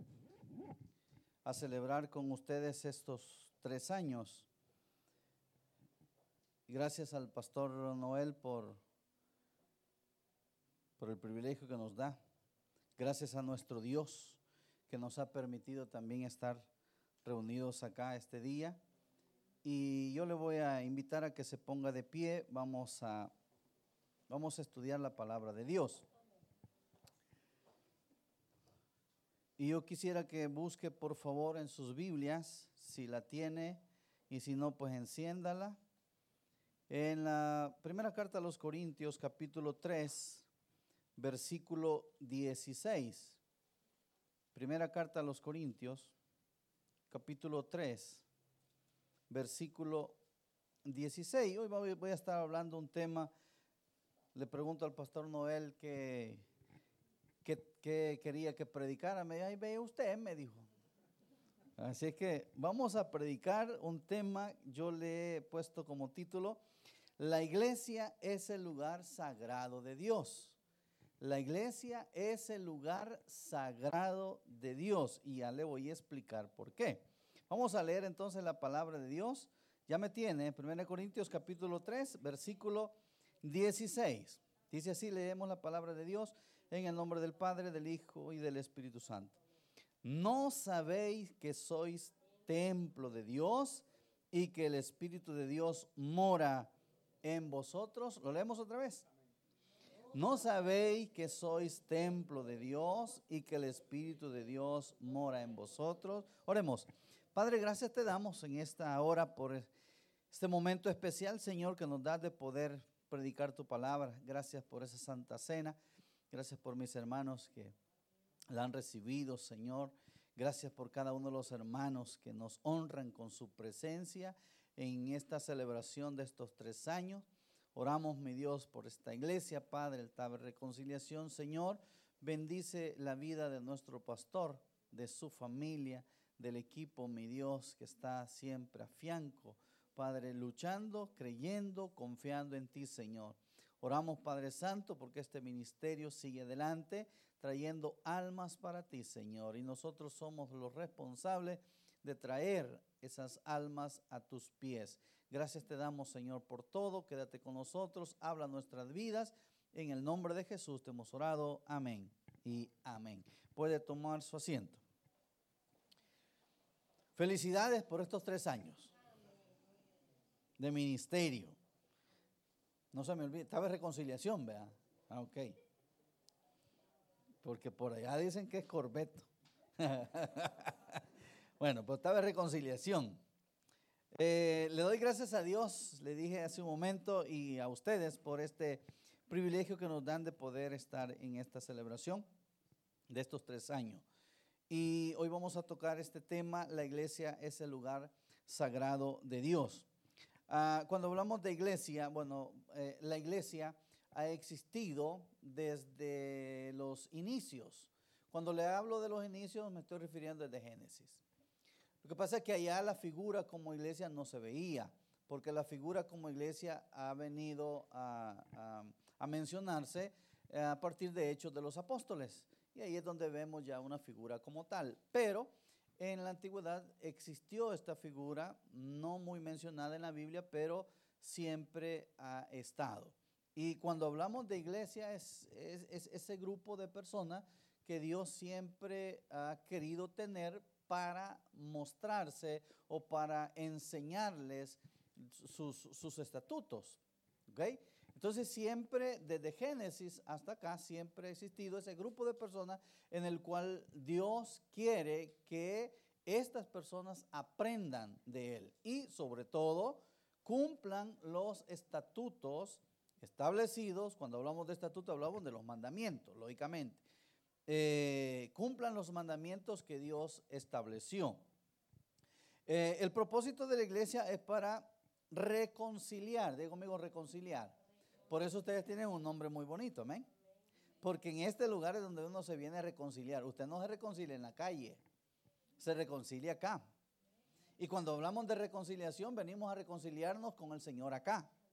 a celebrar con ustedes estos 3 años. Gracias al pastor Noel por el privilegio que nos da. Gracias a nuestro Dios que nos ha permitido también estar reunidos acá este día. Y yo le voy a invitar a que se ponga de pie. Vamos a estudiar la palabra de Dios. Y yo quisiera que busque por favor en sus Biblias, si la tiene, y si no, pues enciéndala. En la primera carta a los Corintios, capítulo 3, versículo 16. Primera carta a los Corintios, capítulo 3, versículo 16. Hoy voy a estar hablando un tema. Le pregunto al pastor Noel que quería que predicara. Me dijo, ahí ve usted, me dijo. Así es que vamos a predicar un tema. Yo le he puesto como título: la iglesia es el lugar sagrado de Dios. La iglesia es el lugar sagrado de Dios. Y ya le voy a explicar por qué. Vamos a leer entonces la palabra de Dios. Ya me tiene, 1 Corintios capítulo 3, versículo 16. Dice así, leemos la palabra de Dios en el nombre del Padre, del Hijo y del Espíritu Santo. ¿No sabéis que sois templo de Dios y que el Espíritu de Dios mora en vosotros? ¿Lo leemos otra vez? ¿No sabéis que sois templo de Dios y que el Espíritu de Dios mora en vosotros? Oremos. Padre, gracias te damos en esta hora por este momento especial, Señor, que nos das de poder predicar tu palabra. Gracias por esa santa cena. Gracias por mis hermanos que la han recibido, Señor. Gracias por cada uno de los hermanos que nos honran con su presencia en esta celebración de estos 3 años. Oramos, mi Dios, por esta iglesia, Padre, el Taber Reconciliación. Señor, bendice la vida de nuestro pastor, de su familia, del equipo, mi Dios, que está siempre a fianco, Padre, luchando, creyendo, confiando en ti, Señor. Oramos, Padre Santo, porque este ministerio sigue adelante, trayendo almas para ti, Señor. Y nosotros somos los responsables de traer esas almas a tus pies. Gracias te damos, Señor, por todo. Quédate con nosotros, habla nuestras vidas. En el nombre de Jesús te hemos orado. Amén y amén. Puede tomar su asiento. Felicidades por estos 3 años de ministerio. No se me olvide, estaba en reconciliación, ¿verdad? Ok. Porque por allá dicen que es Corbeto. Bueno, pues estaba en reconciliación. Le doy gracias a Dios, le dije hace un momento, y a ustedes por este privilegio que nos dan de poder estar en esta celebración de estos 3 años. Y hoy vamos a tocar este tema: la iglesia es el lugar sagrado de Dios. Cuando hablamos de iglesia, la iglesia ha existido desde los inicios. Cuando le hablo de los inicios me estoy refiriendo desde Génesis. Lo que pasa es que allá la figura como iglesia no se veía, porque la figura como iglesia ha venido a mencionarse a partir de Hechos de los Apóstoles. Y ahí es donde vemos ya una figura como tal. Pero en la antigüedad existió esta figura, no muy mencionada en la Biblia, pero siempre ha estado. Y cuando hablamos de iglesia es ese grupo de personas que Dios siempre ha querido tener para mostrarse o para enseñarles sus estatutos. ¿Okay? Entonces siempre, desde Génesis hasta acá, siempre ha existido ese grupo de personas en el cual Dios quiere que estas personas aprendan de Él y sobre todo cumplan los estatutos establecidos. Cuando hablamos de estatutos hablamos de los mandamientos, lógicamente. Cumplan los mandamientos que Dios estableció. El propósito de la iglesia es para reconciliar, digo conmigo, reconciliar. Por eso ustedes tienen un nombre muy bonito, amén. Porque en este lugar es donde uno se viene a reconciliar. Usted no se reconcilia en la calle, se reconcilia acá. Y cuando hablamos de reconciliación, venimos a reconciliarnos con el Señor acá.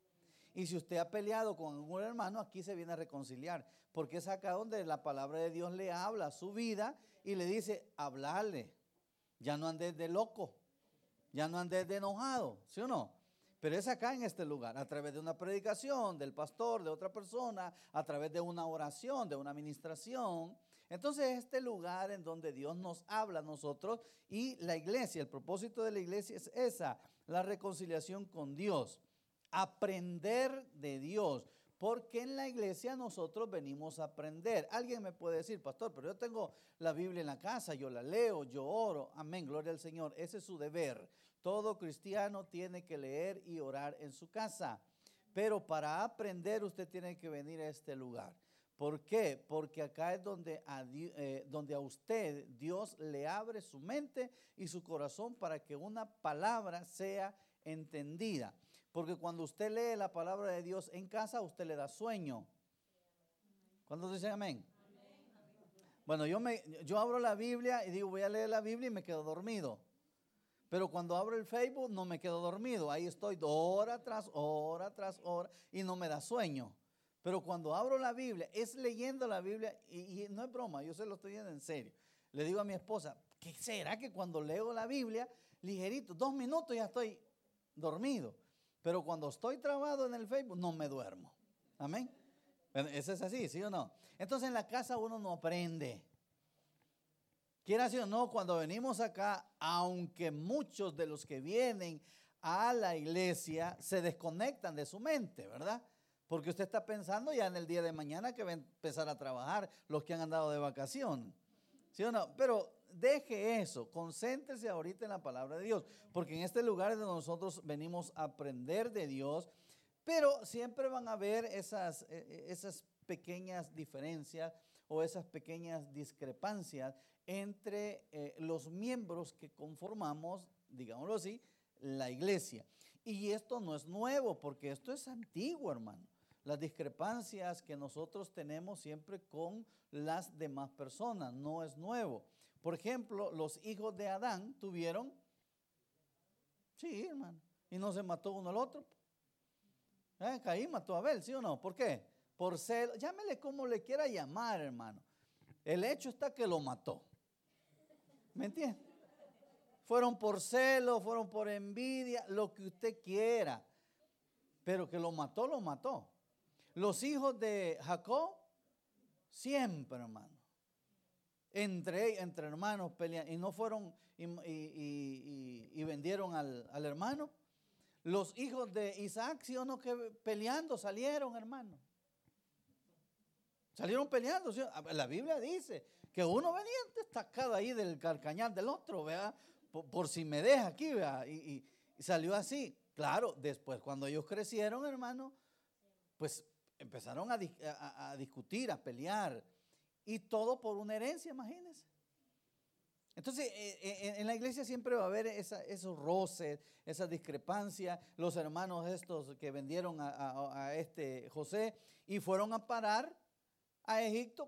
Y si usted ha peleado con algún hermano, aquí se viene a reconciliar, porque es acá donde la palabra de Dios le habla a su vida y le dice, hablarle. Ya no andes de loco, ya no andes de enojado, ¿sí o no? Pero es acá en este lugar, a través de una predicación del pastor, de otra persona, a través de una oración, de una administración. Entonces este lugar en donde Dios nos habla a nosotros y la iglesia, el propósito de la iglesia es esa, la reconciliación con Dios, aprender de Dios. Porque en la iglesia nosotros venimos a aprender. Alguien me puede decir, pastor, pero yo tengo la Biblia en la casa, yo la leo, yo oro. Amén, gloria al Señor. Ese es su deber. Todo cristiano tiene que leer y orar en su casa. Pero para aprender usted tiene que venir a este lugar. ¿Por qué? Porque acá es donde a usted Dios le abre su mente y su corazón para que una palabra sea entendida. Porque cuando usted lee la palabra de Dios en casa, usted le da sueño. ¿Cuántos dicen amén? Bueno, yo abro la Biblia y digo, voy a leer la Biblia y me quedo dormido. Pero cuando abro el Facebook no me quedo dormido. Ahí estoy hora tras hora y no me da sueño. Pero cuando abro la Biblia, es leyendo la Biblia y no es broma, yo se lo estoy viendo en serio. Le digo a mi esposa, ¿qué será que cuando leo la Biblia, ligerito, 2 minutos ya estoy dormido? Pero cuando estoy trabado en el Facebook, no me duermo. Amén. Eso es así, ¿sí o no? Entonces en la casa uno no aprende. Quiera decir o no, cuando venimos acá, aunque muchos de los que vienen a la iglesia se desconectan de su mente, ¿verdad? Porque usted está pensando ya en el día de mañana que va a empezar a trabajar los que han andado de vacación. ¿Sí o no? Pero deje eso, concéntrese ahorita en la palabra de Dios, porque en este lugar es donde nosotros venimos a aprender de Dios, pero siempre van a haber esas pequeñas diferencias o esas pequeñas discrepancias entre los miembros que conformamos, digámoslo así, la iglesia. Y esto no es nuevo, porque esto es antiguo, hermano. Las discrepancias que nosotros tenemos siempre con las demás personas, no es nuevo. Por ejemplo, los hijos de Adán tuvieron, sí, hermano, y no se mató uno al otro. Caín mató a Abel, ¿sí o no? ¿Por qué? Por celo, llámele como le quiera llamar, hermano. El hecho está que lo mató. ¿Me entiende? Fueron por celo, fueron por envidia, lo que usted quiera. Pero que lo mató, lo mató. Los hijos de Jacob, siempre, hermano. Entre hermanos pelean. Y no fueron y vendieron al hermano. Los hijos de Isaac, sí o no, que peleando salieron, hermano. Salieron peleando. ¿Sí? La Biblia dice que uno venía destacado ahí del carcañal del otro, ¿verdad? Por si me deja aquí, ¿verdad? Y salió así. Claro, después cuando ellos crecieron, hermano, pues empezaron a discutir, a pelear. Y todo por una herencia, imagínense. Entonces, en la iglesia siempre va a haber esos roces, esas discrepancias. Los hermanos estos que vendieron a este José y fueron a parar a Egipto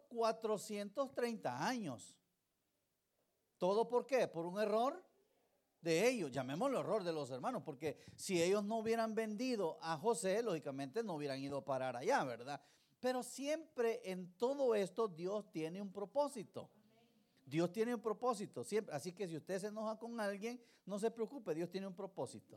430 años. ¿Todo por qué? Por un error de ellos, llamémoslo error de los hermanos, porque si ellos no hubieran vendido a José, lógicamente no hubieran ido a parar allá, ¿verdad? Pero siempre en todo esto Dios tiene un propósito. Dios tiene un propósito, siempre. Así que si usted se enoja con alguien, no se preocupe, Dios tiene un propósito.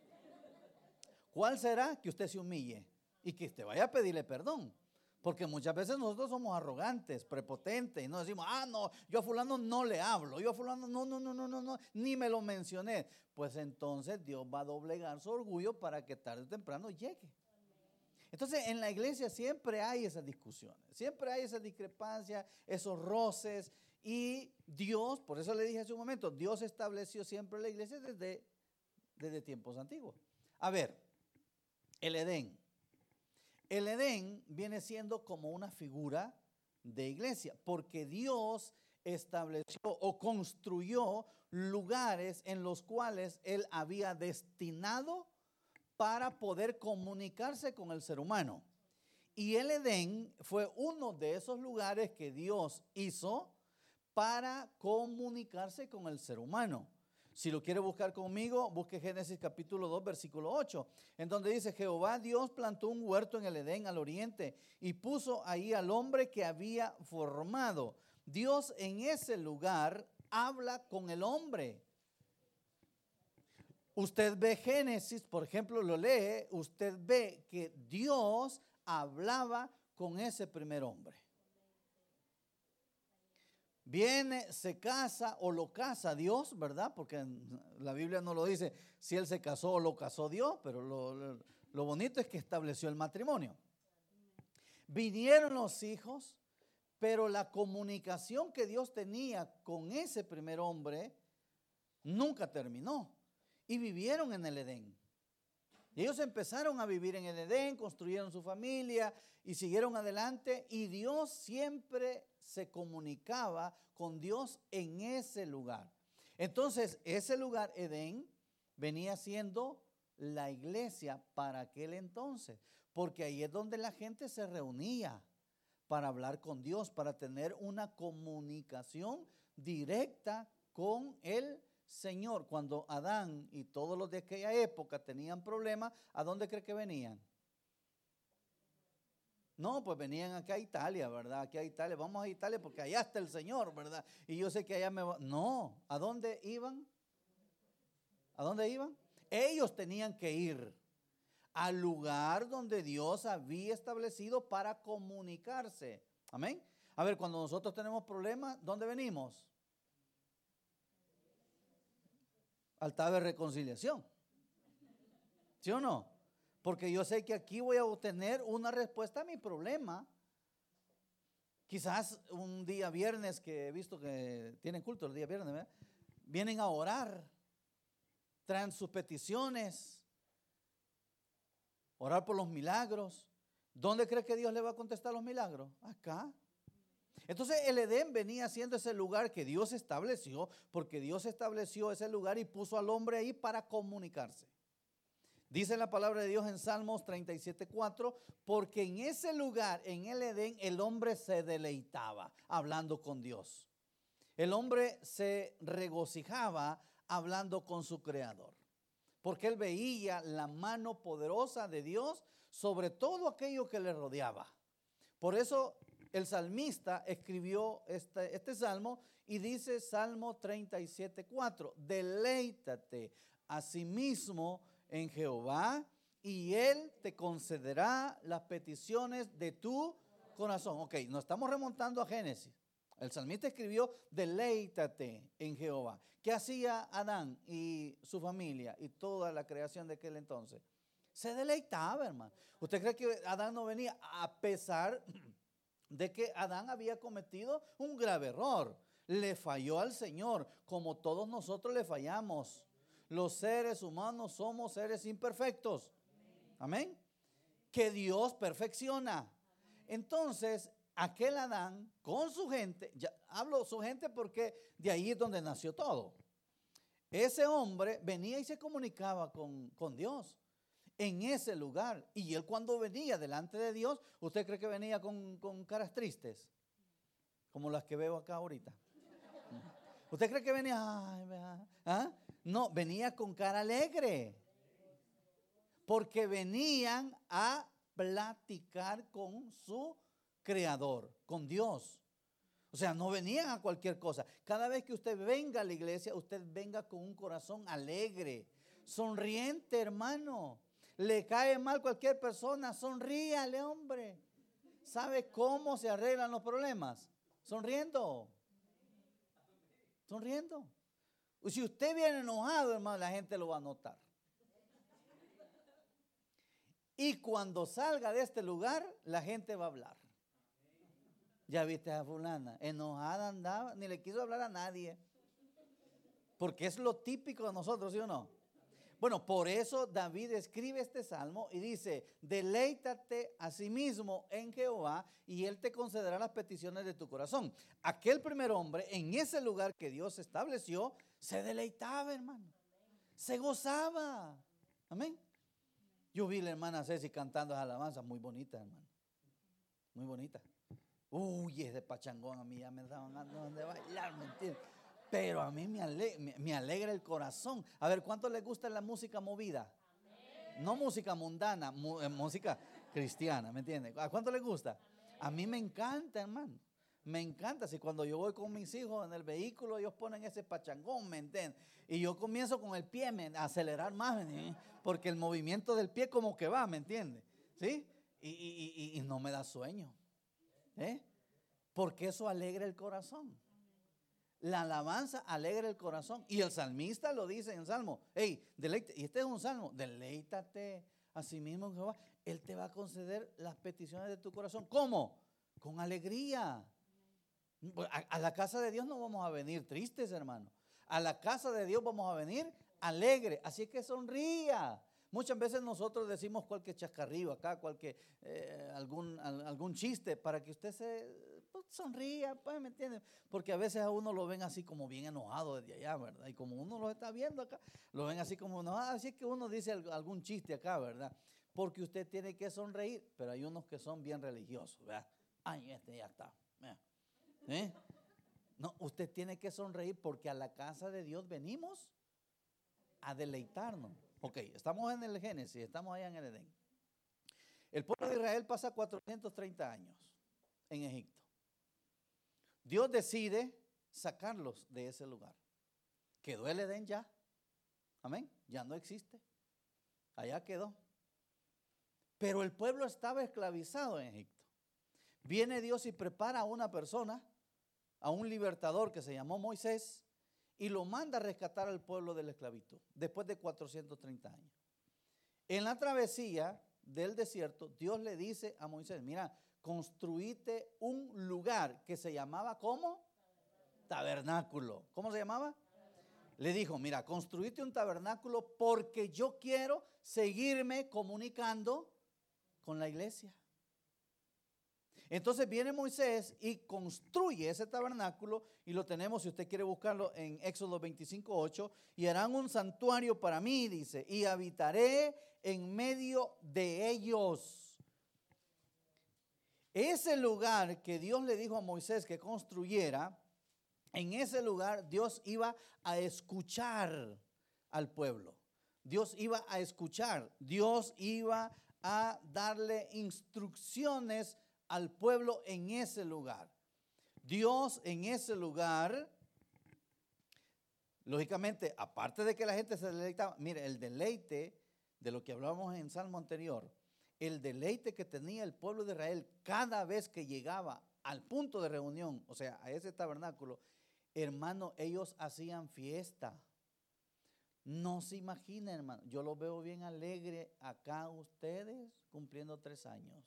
¿Cuál será? Que usted se humille y que usted vaya a pedirle perdón. Porque muchas veces nosotros somos arrogantes, prepotentes y no decimos, no, yo a fulano no le hablo, yo a fulano no, ni me lo mencioné. Pues entonces Dios va a doblegar su orgullo para que tarde o temprano llegue. Entonces en la iglesia siempre hay esas discusiones, siempre hay esas discrepancias, esos roces. Y Dios, por eso le dije hace un momento, Dios estableció siempre la iglesia desde tiempos antiguos. A ver, el Edén. El Edén viene siendo como una figura de iglesia, porque Dios estableció o construyó lugares en los cuales Él había destinado para poder comunicarse con el ser humano. Y el Edén fue uno de esos lugares que Dios hizo para comunicarse con el ser humano. Si lo quiere buscar conmigo, busque Génesis capítulo 2, versículo 8, en donde dice: Jehová Dios plantó un huerto en el Edén al oriente y puso ahí al hombre que había formado. Dios en ese lugar habla con el hombre. Usted ve Génesis, por ejemplo, lo lee, usted ve que Dios hablaba con ese primer hombre. Viene, se casa o lo casa Dios, ¿verdad? Porque la Biblia no lo dice si él se casó o lo casó Dios, pero lo bonito es que estableció el matrimonio. Vinieron los hijos, pero la comunicación que Dios tenía con ese primer hombre nunca terminó. Y vivieron en el Edén. Y ellos empezaron a vivir en el Edén, construyeron su familia y siguieron adelante. Y Dios siempre se comunicaba con Dios en ese lugar. Entonces, ese lugar, Edén, venía siendo la iglesia para aquel entonces. Porque ahí es donde la gente se reunía para hablar con Dios, para tener una comunicación directa con el Señor. Cuando Adán y todos los de aquella época tenían problemas, ¿a dónde cree que venían? No, pues venían acá a Italia, ¿verdad? Aquí a Italia, vamos a Italia porque allá está el Señor, ¿verdad? Y yo sé que allá me va. No, ¿a dónde iban? ¿A dónde iban? Ellos tenían que ir al lugar donde Dios había establecido para comunicarse. Amén. A ver, cuando nosotros tenemos problemas, ¿dónde venimos? Altar de reconciliación. ¿Sí o no? Porque yo sé que aquí voy a obtener una respuesta a mi problema. Quizás un día viernes, que he visto que tienen culto el día viernes, ¿verdad? Vienen a orar, traen sus peticiones, orar por los milagros. ¿Dónde cree que Dios le va a contestar los milagros? Acá. Entonces el Edén venía siendo ese lugar que Dios estableció, porque Dios estableció ese lugar y puso al hombre ahí para comunicarse. Dice la palabra de Dios en Salmos 37:4, porque en ese lugar, en el Edén, el hombre se deleitaba hablando con Dios. El hombre se regocijaba hablando con su Creador, porque él veía la mano poderosa de Dios sobre todo aquello que le rodeaba. Por eso el salmista escribió este salmo y dice Salmo 37:4, deleítate asimismo en Jehová y Él te concederá las peticiones de tu corazón. Ok, nos estamos remontando a Génesis. El salmista escribió, deleítate en Jehová. ¿Qué hacía Adán y su familia y toda la creación de aquel entonces? Se deleitaba, hermano. ¿Usted cree que Adán no venía a pesar de que Adán había cometido un grave error? Le falló al Señor, como todos nosotros le fallamos. Los seres humanos somos seres imperfectos. Amén. Que Dios perfecciona. Entonces, aquel Adán con su gente, ya hablo su gente porque de ahí es donde nació todo. Ese hombre venía y se comunicaba con Dios en ese lugar. Y él cuando venía delante de Dios, ¿usted cree que venía con caras tristes? Como las que veo acá ahorita. ¿Usted cree que venía? ¿Ah? No, venía con cara alegre. Porque venían a platicar con su Creador, con Dios. O sea, no venían a cualquier cosa. Cada vez que usted venga a la iglesia, usted venga con un corazón alegre, sonriente, hermano. Le cae mal cualquier persona, sonríale, hombre. ¿Sabe cómo se arreglan los problemas? Sonriendo. Sonriendo. Y si usted viene enojado, hermano, la gente lo va a notar. Y cuando salga de este lugar, la gente va a hablar. Ya viste a fulana, enojada andaba, ni le quiso hablar a nadie. Porque es lo típico de nosotros, ¿sí o no? Bueno, por eso David escribe este salmo y dice, deleítate a sí mismo en Jehová y Él te concederá las peticiones de tu corazón. Aquel primer hombre, en ese lugar que Dios estableció, se deleitaba, hermano. Se gozaba. Amén. Yo vi a la hermana Ceci cantando esa alabanza, muy bonita, hermano. Muy bonita. Uy, es de pachangón, a mí ya me daban ganas de bailar, ¿me entiendes? Pero a mí me alegra el corazón. A ver, ¿cuánto les gusta la música movida? No música mundana, música cristiana, ¿me entienden? ¿A cuánto les gusta? A mí me encanta, hermano. Me encanta. Si cuando yo voy con mis hijos en el vehículo, ellos ponen ese pachangón, ¿me entienden? Y yo comienzo con el pie a acelerar más, ¿me entienden? Porque el movimiento del pie como que va, ¿me entiendes? ¿Sí? Y no me da sueño. Porque eso alegra el corazón. La alabanza alegra el corazón. Y el salmista lo dice en el Salmo. Hey, deleítate. Y este es un salmo. Deleítate a sí mismo en Jehová. Él te va a conceder las peticiones de tu corazón. ¿Cómo? Con alegría. A la casa de Dios no vamos a venir tristes, hermano. A la casa de Dios vamos a venir alegres. Así que sonría. Muchas veces nosotros decimos cualquier chascarrillo acá, algún chiste para que usted se sonría, pues, ¿me entiende? Porque a veces a uno lo ven así como bien enojado desde allá, ¿verdad? Y como uno lo está viendo acá, lo ven así como enojado. Así que uno dice algún chiste acá, ¿verdad? Porque usted tiene que sonreír, pero hay unos que son bien religiosos, ¿verdad? Ay, este ya está. No, usted tiene que sonreír porque a la casa de Dios venimos a deleitarnos. Ok, estamos en el Génesis, estamos allá en el Edén. El pueblo de Israel pasa 430 años en Egipto. Dios decide sacarlos de ese lugar. Quedó el Edén ya. Amén. Ya no existe. Allá quedó. Pero el pueblo estaba esclavizado en Egipto. Viene Dios y prepara a una persona, a un libertador que se llamó Moisés, y lo manda a rescatar al pueblo de la esclavitud, después de 430 años. En la travesía del desierto, Dios le dice a Moisés, mira, construite un lugar que se llamaba, ¿cómo? Tabernáculo. ¿Cómo se llamaba? Le dijo, mira, construite un tabernáculo porque yo quiero seguirme comunicando con la iglesia. Entonces viene Moisés y construye ese tabernáculo y lo tenemos, si usted quiere buscarlo, en Éxodo 25:8, y harán un santuario para mí, dice, y habitaré en medio de ellos. Ese lugar que Dios le dijo a Moisés que construyera, en ese lugar Dios iba a escuchar al pueblo. Dios iba a escuchar, Dios iba a darle instrucciones al pueblo en ese lugar. Dios en ese lugar, lógicamente, aparte de que la gente se deleitaba, mire, el deleite de lo que hablábamos en el Salmo anterior, el deleite que tenía el pueblo de Israel cada vez que llegaba al punto de reunión, o sea, a ese tabernáculo, hermano, ellos hacían fiesta. No se imagina, hermano, yo los veo bien alegre acá ustedes cumpliendo 3 años.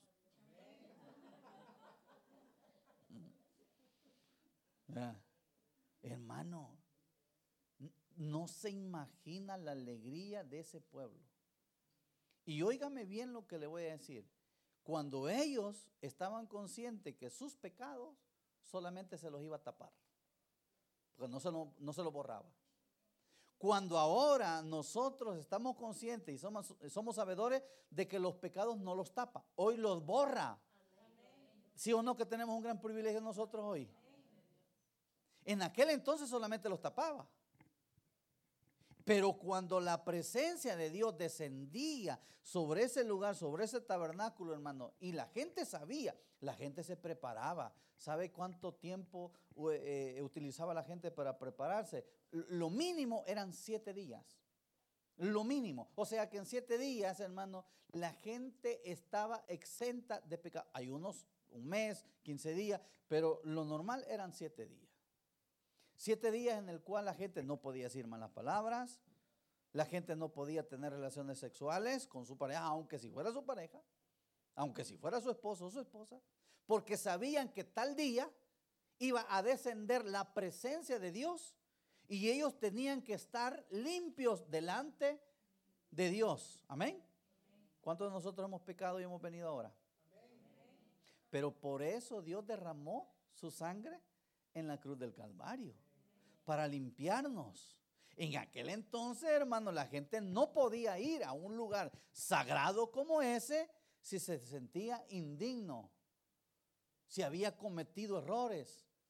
Hermano, no se imagina la alegría de ese pueblo. Y óigame bien lo que le voy a decir. Cuando ellos estaban conscientes que sus pecados solamente se los iba a tapar, porque no se lo borraba. Cuando ahora nosotros estamos conscientes y somos sabedores de que los pecados no los tapa, hoy los borra. ¿Sí o no que tenemos un gran privilegio nosotros hoy? En aquel entonces solamente los tapaba. Pero cuando la presencia de Dios descendía sobre ese lugar, sobre ese tabernáculo, hermano, y la gente sabía, la gente se preparaba. ¿Sabe cuánto tiempo utilizaba la gente para prepararse? Lo mínimo eran 7 días. Lo mínimo. O sea que en 7 días, hermano, la gente estaba exenta de pecado. Hay unos, un mes, 15 días, pero lo normal eran 7 días. 7 días en el cual la gente no podía decir malas palabras, la gente no podía tener relaciones sexuales con su pareja, aunque si fuera su pareja, aunque si fuera su esposo o su esposa, porque sabían que tal día iba a descender la presencia de Dios y ellos tenían que estar limpios delante de Dios. Amén. ¿Cuántos de nosotros hemos pecado y hemos venido ahora? Pero por eso Dios derramó su sangre en la cruz del Calvario, para limpiarnos. En aquel entonces, hermano, la gente no podía ir a un lugar sagrado como ese si se sentía indigno, si había cometido errores.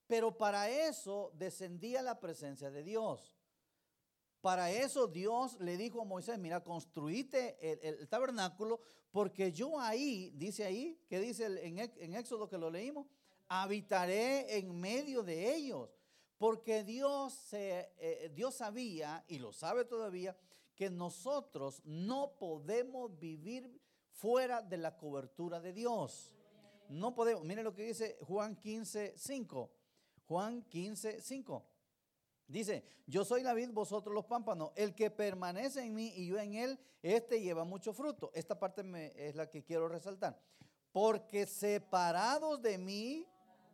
Pero para eso descendía la presencia de Dios. Para eso Dios le dijo a Moisés, mira, construíte el tabernáculo, porque yo ahí, dice ahí, ¿qué dice en Éxodo que lo leímos? Habitaré en medio de ellos. Porque Dios sabía, y lo sabe todavía, que nosotros no podemos vivir fuera de la cobertura de Dios. No podemos. Miren lo que dice Juan 15:5. Juan 15:5. Dice, yo soy la vid, vosotros los pámpanos. El que permanece en mí y yo en él, este lleva mucho fruto. Esta parte es la que quiero resaltar. Porque separados de mí,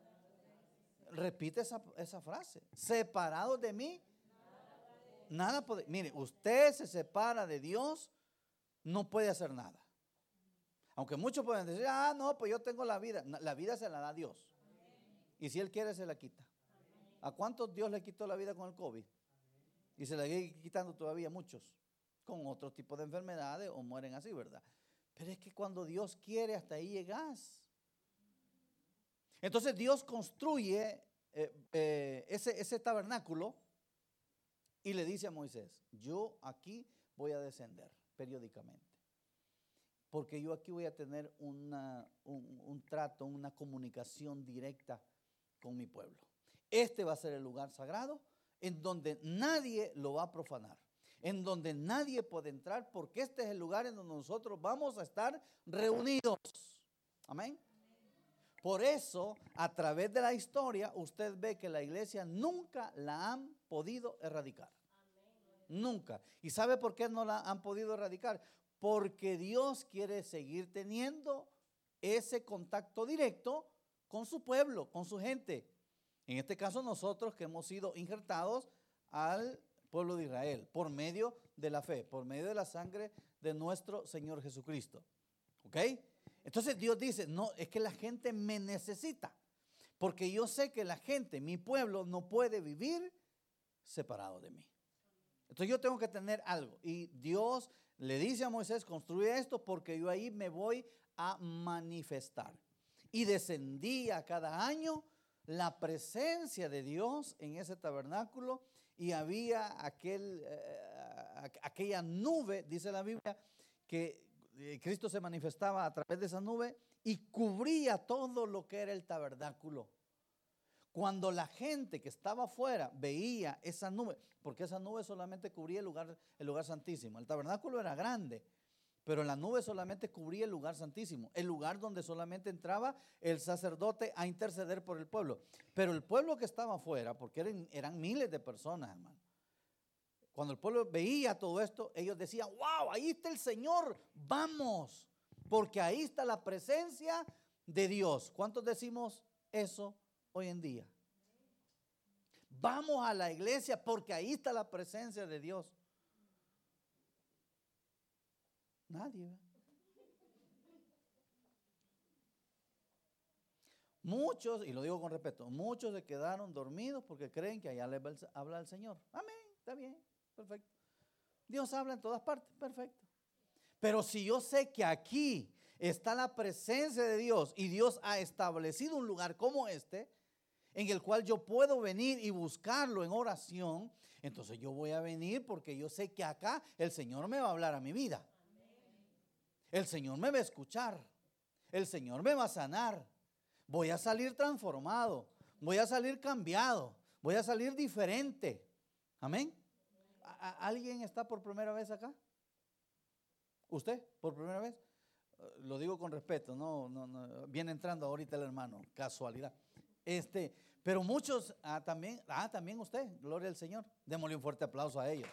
repite esa frase, separados de mí, nada puede. Mire, usted se separa de Dios, no puede hacer nada. Aunque muchos pueden decir, no, pues yo tengo la vida. La vida se la da Dios. Y si Él quiere, se la quita. ¿A cuántos Dios le quitó la vida con el COVID? Y se la sigue quitando todavía muchos, con otro tipo de enfermedades o mueren así, ¿verdad? Pero es que cuando Dios quiere, hasta ahí llegas. Entonces Dios construye ese tabernáculo y le dice a Moisés, yo aquí voy a descender periódicamente. Porque yo aquí voy a tener un trato, una comunicación directa con mi pueblo. Este va a ser el lugar sagrado en donde nadie lo va a profanar, en donde nadie puede entrar, porque este es el lugar en donde nosotros vamos a estar reunidos. Amén. Por eso, a través de la historia, usted ve que la iglesia nunca la han podido erradicar. Nunca. ¿Y sabe por qué no la han podido erradicar? Porque Dios quiere seguir teniendo ese contacto directo con su pueblo, con su gente. En este caso nosotros que hemos sido injertados al pueblo de Israel por medio de la fe, por medio de la sangre de nuestro Señor Jesucristo. ¿Ok? Entonces Dios dice, no, es que la gente me necesita, porque yo sé que la gente, mi pueblo, no puede vivir separado de mí. Entonces yo tengo que tener algo. Y Dios le dice a Moisés, construye esto porque yo ahí me voy a manifestar. Y descendía cada año la presencia de Dios en ese tabernáculo y había aquella nube, dice la Biblia, que Cristo se manifestaba a través de esa nube y cubría todo lo que era el tabernáculo. Cuando la gente que estaba afuera veía esa nube, porque esa nube solamente cubría el lugar santísimo. El tabernáculo era grande, pero la nube solamente cubría el lugar santísimo, el lugar donde solamente entraba el sacerdote a interceder por el pueblo. Pero el pueblo que estaba afuera, porque eran miles de personas, hermano. Cuando el pueblo veía todo esto, ellos decían, wow, ahí está el Señor, vamos, porque ahí está la presencia de Dios. ¿Cuántos decimos eso hoy en día? Vamos a la iglesia porque ahí está la presencia de Dios. Nadie. Muchos, y lo digo con respeto, muchos se quedaron dormidos porque creen que allá les habla el Señor. Amén, está bien, perfecto. Dios habla en todas partes, perfecto. Pero si yo sé que aquí está la presencia de Dios y Dios ha establecido un lugar como este, en el cual yo puedo venir y buscarlo en oración, entonces yo voy a venir porque yo sé que acá el Señor me va a hablar a mi vida. El Señor me va a escuchar. El Señor me va a sanar. Voy a salir transformado. Voy a salir cambiado. Voy a salir diferente. Amén. ¿Alguien está por primera vez acá? ¿Usted por primera vez? Lo digo con respeto. No, viene entrando ahorita el hermano. Casualidad. Pero muchos también usted. Gloria al Señor. Démosle un fuerte aplauso a ellos.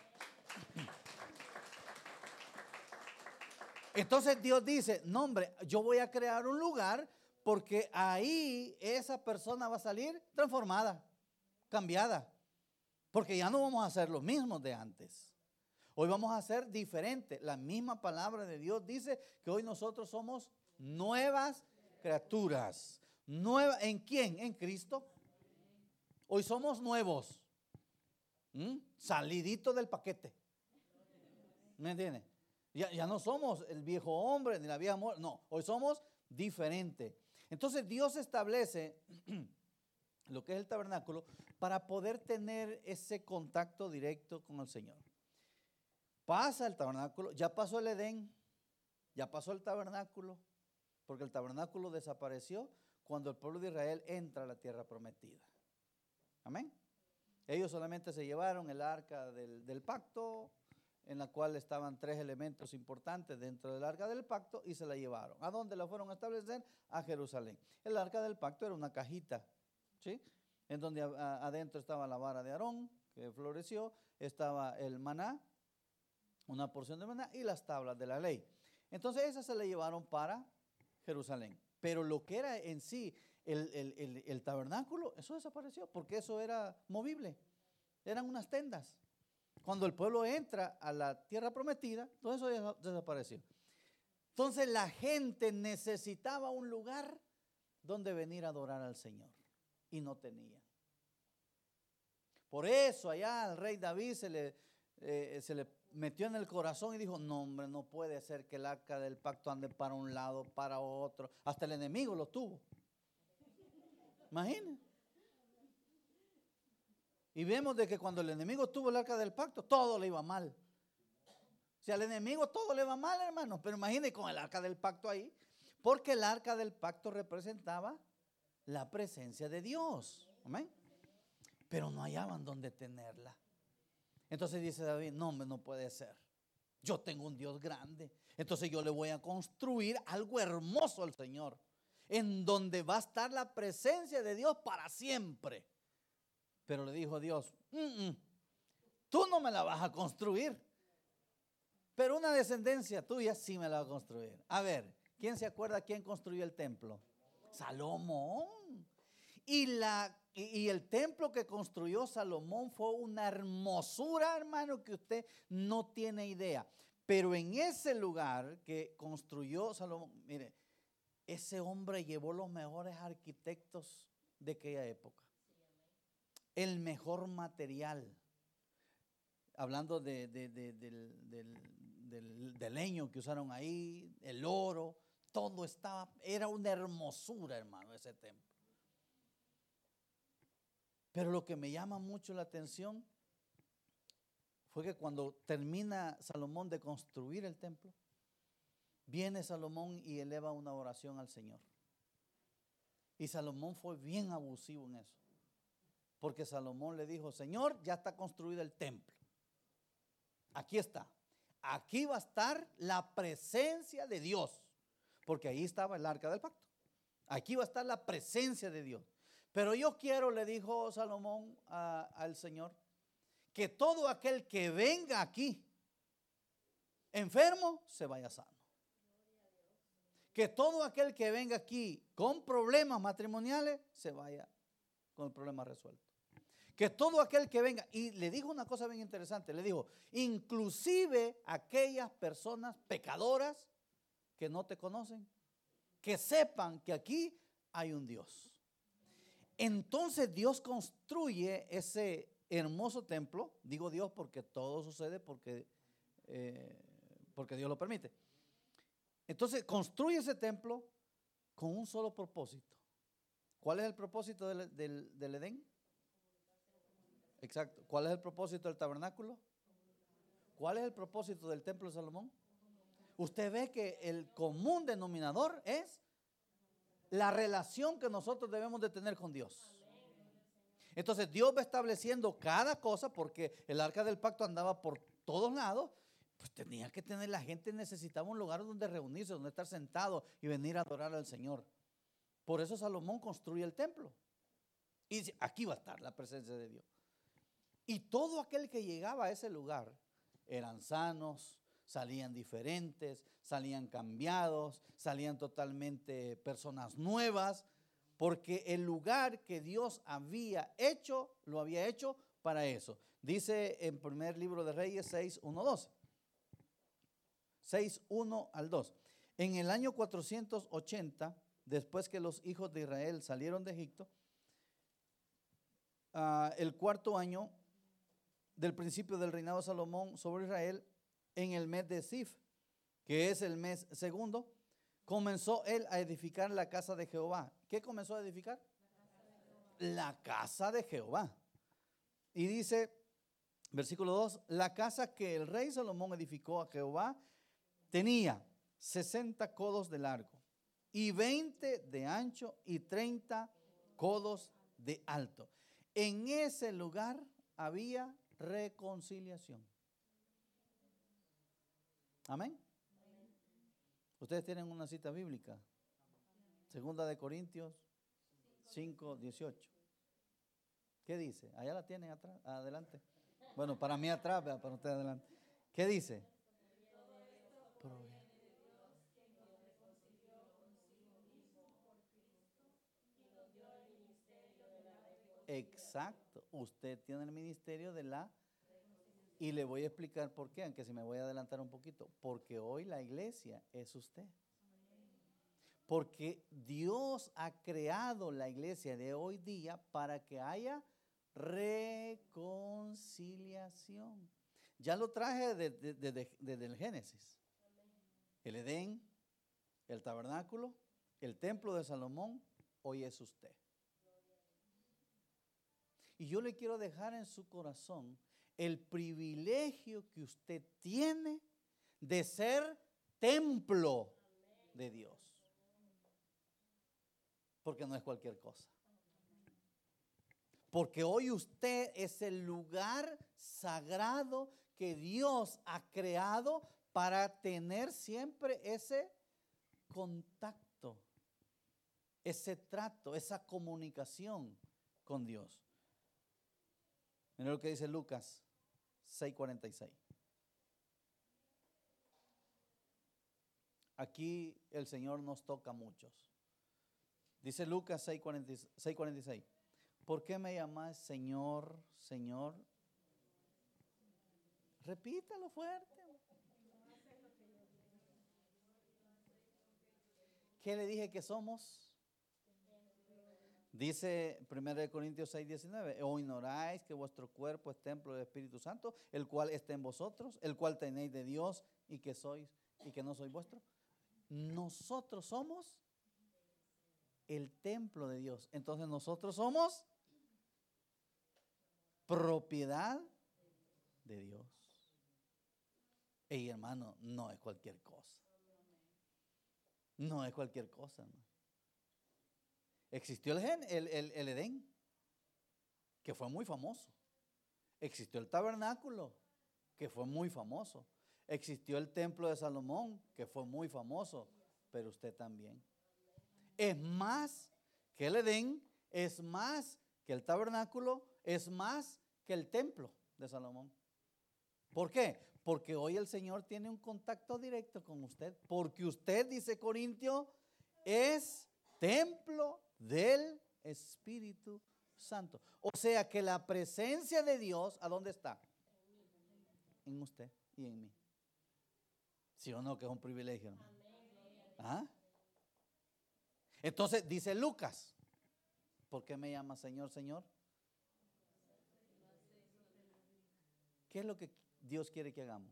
Entonces Dios dice, no hombre, yo voy a crear un lugar porque ahí esa persona va a salir transformada, cambiada. Porque ya no vamos a hacer lo mismo de antes. Hoy vamos a ser diferente. La misma palabra de Dios dice que hoy nosotros somos nuevas criaturas. ¿En quién? En Cristo. Hoy somos nuevos. Salidito del paquete. ¿Me entiendes? Ya no somos el viejo hombre ni la vieja mujer. No, hoy somos diferentes. Entonces Dios establece lo que es el tabernáculo, para poder tener ese contacto directo con el Señor. Pasa el tabernáculo, ya pasó el Edén, ya pasó el tabernáculo, porque el tabernáculo desapareció cuando el pueblo de Israel entra a la tierra prometida. Amén. Ellos solamente se llevaron el arca del pacto, en la cual estaban 3 elementos importantes dentro del arca del pacto, y se la llevaron. ¿A dónde la fueron a establecer? A Jerusalén. El arca del pacto era una cajita, ¿sí? En donde adentro estaba la vara de Aarón, que floreció, estaba el maná, una porción de maná, y las tablas de la ley. Entonces esas se la llevaron para Jerusalén. Pero lo que era en sí el tabernáculo, eso desapareció, porque eso era movible. Eran unas tendas. Cuando el pueblo entra a la tierra prometida, todo eso desapareció. Entonces la gente necesitaba un lugar donde venir a adorar al Señor, y no tenía. Por eso allá al rey David se le metió en el corazón y dijo: no, hombre, no puede ser que el arca del pacto ande para un lado, para otro. Hasta el enemigo lo tuvo. Imagínense. Y vemos de que cuando el enemigo tuvo el arca del pacto, todo le iba mal. O sea, al enemigo todo le va mal, hermano. Pero imagínense con el arca del pacto ahí. Porque el arca del pacto representaba la presencia de Dios. Amén. Pero no hallaban dónde tenerla. Entonces dice David: no, hombre, no puede ser. Yo tengo un Dios grande. Entonces yo le voy a construir algo hermoso al Señor, en donde va a estar la presencia de Dios para siempre. Pero le dijo Dios: tú no me la vas a construir, pero una descendencia tuya sí me la va a construir. A ver, ¿quién se acuerda quién construyó el templo? Salomón. Y el templo que construyó Salomón fue una hermosura, hermano, que usted no tiene idea. Pero en ese lugar que construyó Salomón, mire, ese hombre llevó los mejores arquitectos de aquella época. El mejor material. Hablando del leño que usaron ahí, el oro, todo era una hermosura, hermano, ese templo. Pero lo que me llama mucho la atención fue que cuando termina Salomón de construir el templo, viene Salomón y eleva una oración al Señor. Y Salomón fue bien abusivo en eso, porque Salomón le dijo: Señor, ya está construido el templo. Aquí está. Aquí va a estar la presencia de Dios, porque ahí estaba el arca del pacto. Aquí va a estar la presencia de Dios. Pero yo quiero, le dijo Salomón al Señor, que todo aquel que venga aquí enfermo se vaya sano. Que todo aquel que venga aquí con problemas matrimoniales se vaya con el problema resuelto. Que todo aquel que venga, y le dijo una cosa bien interesante, le dijo: inclusive aquellas personas pecadoras que no te conocen, que sepan que aquí hay un Dios. Entonces Dios construye ese hermoso templo. Digo Dios porque todo sucede porque Dios lo permite. Entonces construye ese templo con un solo propósito. ¿Cuál es el propósito del Edén? Exacto. ¿Cuál es el propósito del tabernáculo? ¿Cuál es el propósito del templo de Salomón? Usted ve que el común denominador es la relación que nosotros debemos de tener con Dios. Entonces Dios va estableciendo cada cosa, porque el arca del pacto andaba por todos lados. Pues tenía que tener, la gente necesitaba un lugar donde reunirse, donde estar sentado y venir a adorar al Señor. Por eso Salomón construye el templo y dice: aquí va a estar la presencia de Dios. Y todo aquel que llegaba a ese lugar eran sanos, salían diferentes, salían cambiados, salían totalmente personas nuevas, porque el lugar que Dios había hecho, lo había hecho para eso. Dice en primer libro de Reyes 6:1-2. 6:1 al 2. En el año 480, después que los hijos de Israel salieron de Egipto, el cuarto año del principio del reinado de Salomón sobre Israel, en el mes de Sif, que es el mes segundo, comenzó él a edificar la casa de Jehová. ¿Qué comenzó a edificar? la casa de Jehová. Y dice, versículo 2, la casa que el rey Salomón edificó a Jehová tenía 60 codos de largo y 20 de ancho y 30 codos de alto. En ese lugar había reconciliación. Amén. Ustedes tienen una cita bíblica. Segunda de Corintios 5:18. ¿Qué dice? Allá la tienen atrás, adelante. Bueno, para mí atrás, para ustedes adelante. ¿Qué dice? Exacto. Usted tiene el ministerio de la... Y le voy a explicar por qué, aunque si me voy a adelantar un poquito. Porque hoy la iglesia es usted. Porque Dios ha creado la iglesia de hoy día para que haya reconciliación. Ya lo traje desde el Génesis. El Edén, el tabernáculo, el templo de Salomón, hoy es usted. Y yo le quiero dejar en su corazón el privilegio que usted tiene de ser templo de Dios. Porque no es cualquier cosa. Porque hoy usted es el lugar sagrado que Dios ha creado para tener siempre ese contacto, ese trato, esa comunicación con Dios. Mira lo que dice Lucas 6:46. Aquí el Señor nos toca a muchos. Dice Lucas 6:46. ¿Por qué me llamas Señor, Señor? Repítalo fuerte. ¿Qué le dije que somos? Dice 1 Corintios 6:19. ¿O ignoráis que vuestro cuerpo es templo del Espíritu Santo, el cual está en vosotros, el cual tenéis de Dios y que sois y que no sois vuestro? Nosotros somos el templo de Dios. Entonces nosotros somos propiedad de Dios. Ey, hermano, no es cualquier cosa. No es cualquier cosa, hermano. Existió el Edén, que fue muy famoso. Existió el tabernáculo, que fue muy famoso. Existió el templo de Salomón, que fue muy famoso, pero usted también. Es más que el Edén, es más que el tabernáculo, es más que el templo de Salomón. ¿Por qué? Porque hoy el Señor tiene un contacto directo con usted, porque usted, dice Corintio, es templo del Espíritu Santo. O sea que la presencia de Dios, ¿a dónde está? En usted y en mí. ¿Sí o no? Que es un privilegio, hermano. ¿Ah? Entonces dice Lucas, ¿por qué me llama Señor, Señor? ¿Qué es lo que Dios quiere que hagamos?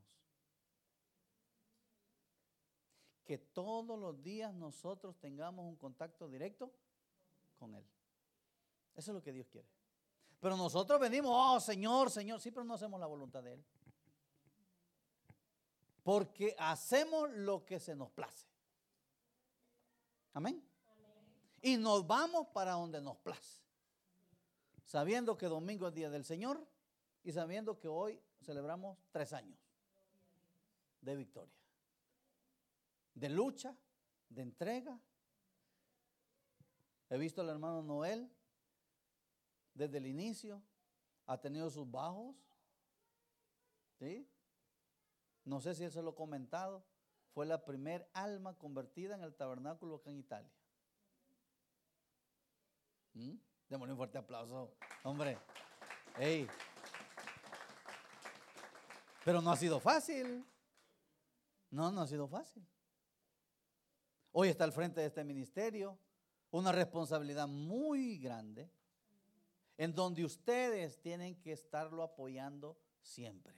Que todos los días nosotros tengamos un contacto directo con Él. Eso es lo que Dios quiere. Pero nosotros venimos, oh Señor, Señor, sí, pero no hacemos la voluntad de Él. Porque hacemos lo que se nos place. Amén. Y nos vamos para donde nos place. Sabiendo que domingo es día del Señor y sabiendo que hoy celebramos 3 años de victoria, de lucha, de entrega. He visto al hermano Noel desde el inicio, ha tenido sus bajos, ¿sí? No sé si él se lo ha comentado, fue la primer alma convertida en el tabernáculo acá en Italia. Démosle un fuerte aplauso, hombre. Hey. Pero no ha sido fácil. No ha sido fácil. Hoy está al frente de este ministerio, una responsabilidad muy grande, en donde ustedes tienen que estarlo apoyando siempre.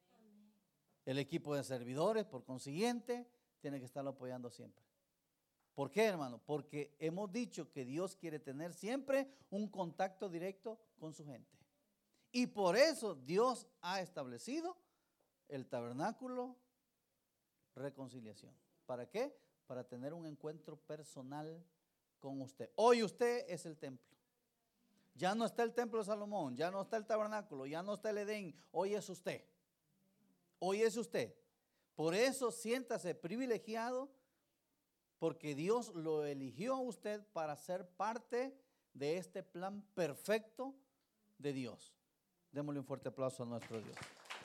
El equipo de servidores, por consiguiente, tiene que estarlo apoyando siempre. ¿Por qué, hermano? Porque hemos dicho que Dios quiere tener siempre un contacto directo con su gente. Y por eso Dios ha establecido el tabernáculo reconciliación. ¿Para qué? Para tener un encuentro personal con usted. Hoy usted es el templo. Ya no está el templo de Salomón, ya no está el tabernáculo, ya no está el Edén. Hoy es usted. Hoy es usted. Por eso siéntase privilegiado, porque Dios lo eligió a usted para ser parte de este plan perfecto de Dios. Démosle un fuerte aplauso a nuestro Dios.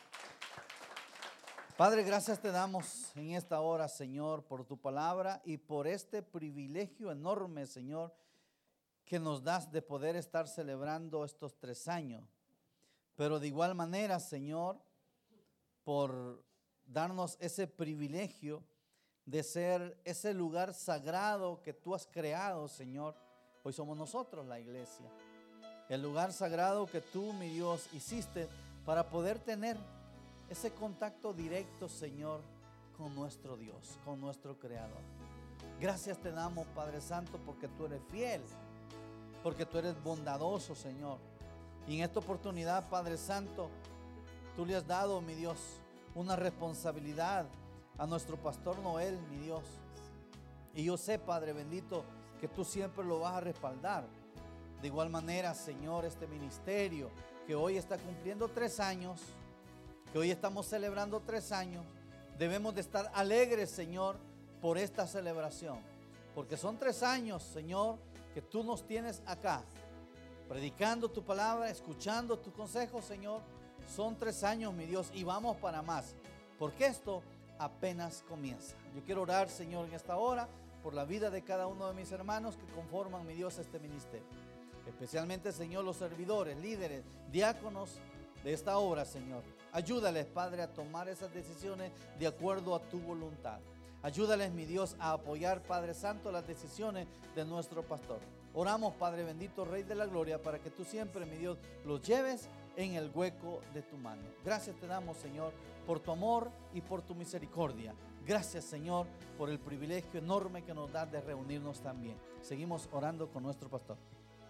Padre, gracias te damos en esta hora, Señor, por tu palabra y por este privilegio enorme, Señor, que nos das de poder estar celebrando estos 3 años. Pero de igual manera, Señor, por darnos ese privilegio de ser ese lugar sagrado que tú has creado, Señor. Hoy somos nosotros la iglesia. El lugar sagrado que tú, mi Dios, hiciste para poder tener ese contacto directo, Señor, con nuestro Dios, con nuestro Creador. Gracias te damos, Padre Santo, porque tú eres fiel, porque tú eres bondadoso, Señor. Y en esta oportunidad, Padre Santo, tú le has dado, mi Dios, una responsabilidad a nuestro pastor Noel, mi Dios. Y yo sé, Padre bendito, que tú siempre lo vas a respaldar. De igual manera, Señor, este ministerio que hoy está cumpliendo 3 años, que hoy estamos celebrando 3 años, debemos de estar alegres, Señor, por esta celebración. Porque son 3 años, Señor, que tú nos tienes acá, predicando tu palabra, escuchando tus consejos, Señor. Son 3 años, mi Dios, y vamos para más, porque esto apenas comienza. Yo quiero orar, Señor, en esta hora por la vida de cada uno de mis hermanos que conforman, mi Dios, este ministerio. Especialmente, Señor, los servidores, líderes, diáconos de esta obra, Señor. Ayúdales, Padre, a tomar esas decisiones de acuerdo a tu voluntad. Ayúdales, mi Dios, a apoyar, Padre Santo, las decisiones de nuestro pastor. Oramos, Padre bendito, Rey de la Gloria, para que tú siempre, mi Dios, los lleves en el hueco de tu mano. Gracias te damos, Señor, por tu amor y por tu misericordia. Gracias, Señor, por el privilegio enorme que nos das de reunirnos también. Seguimos orando con nuestro pastor.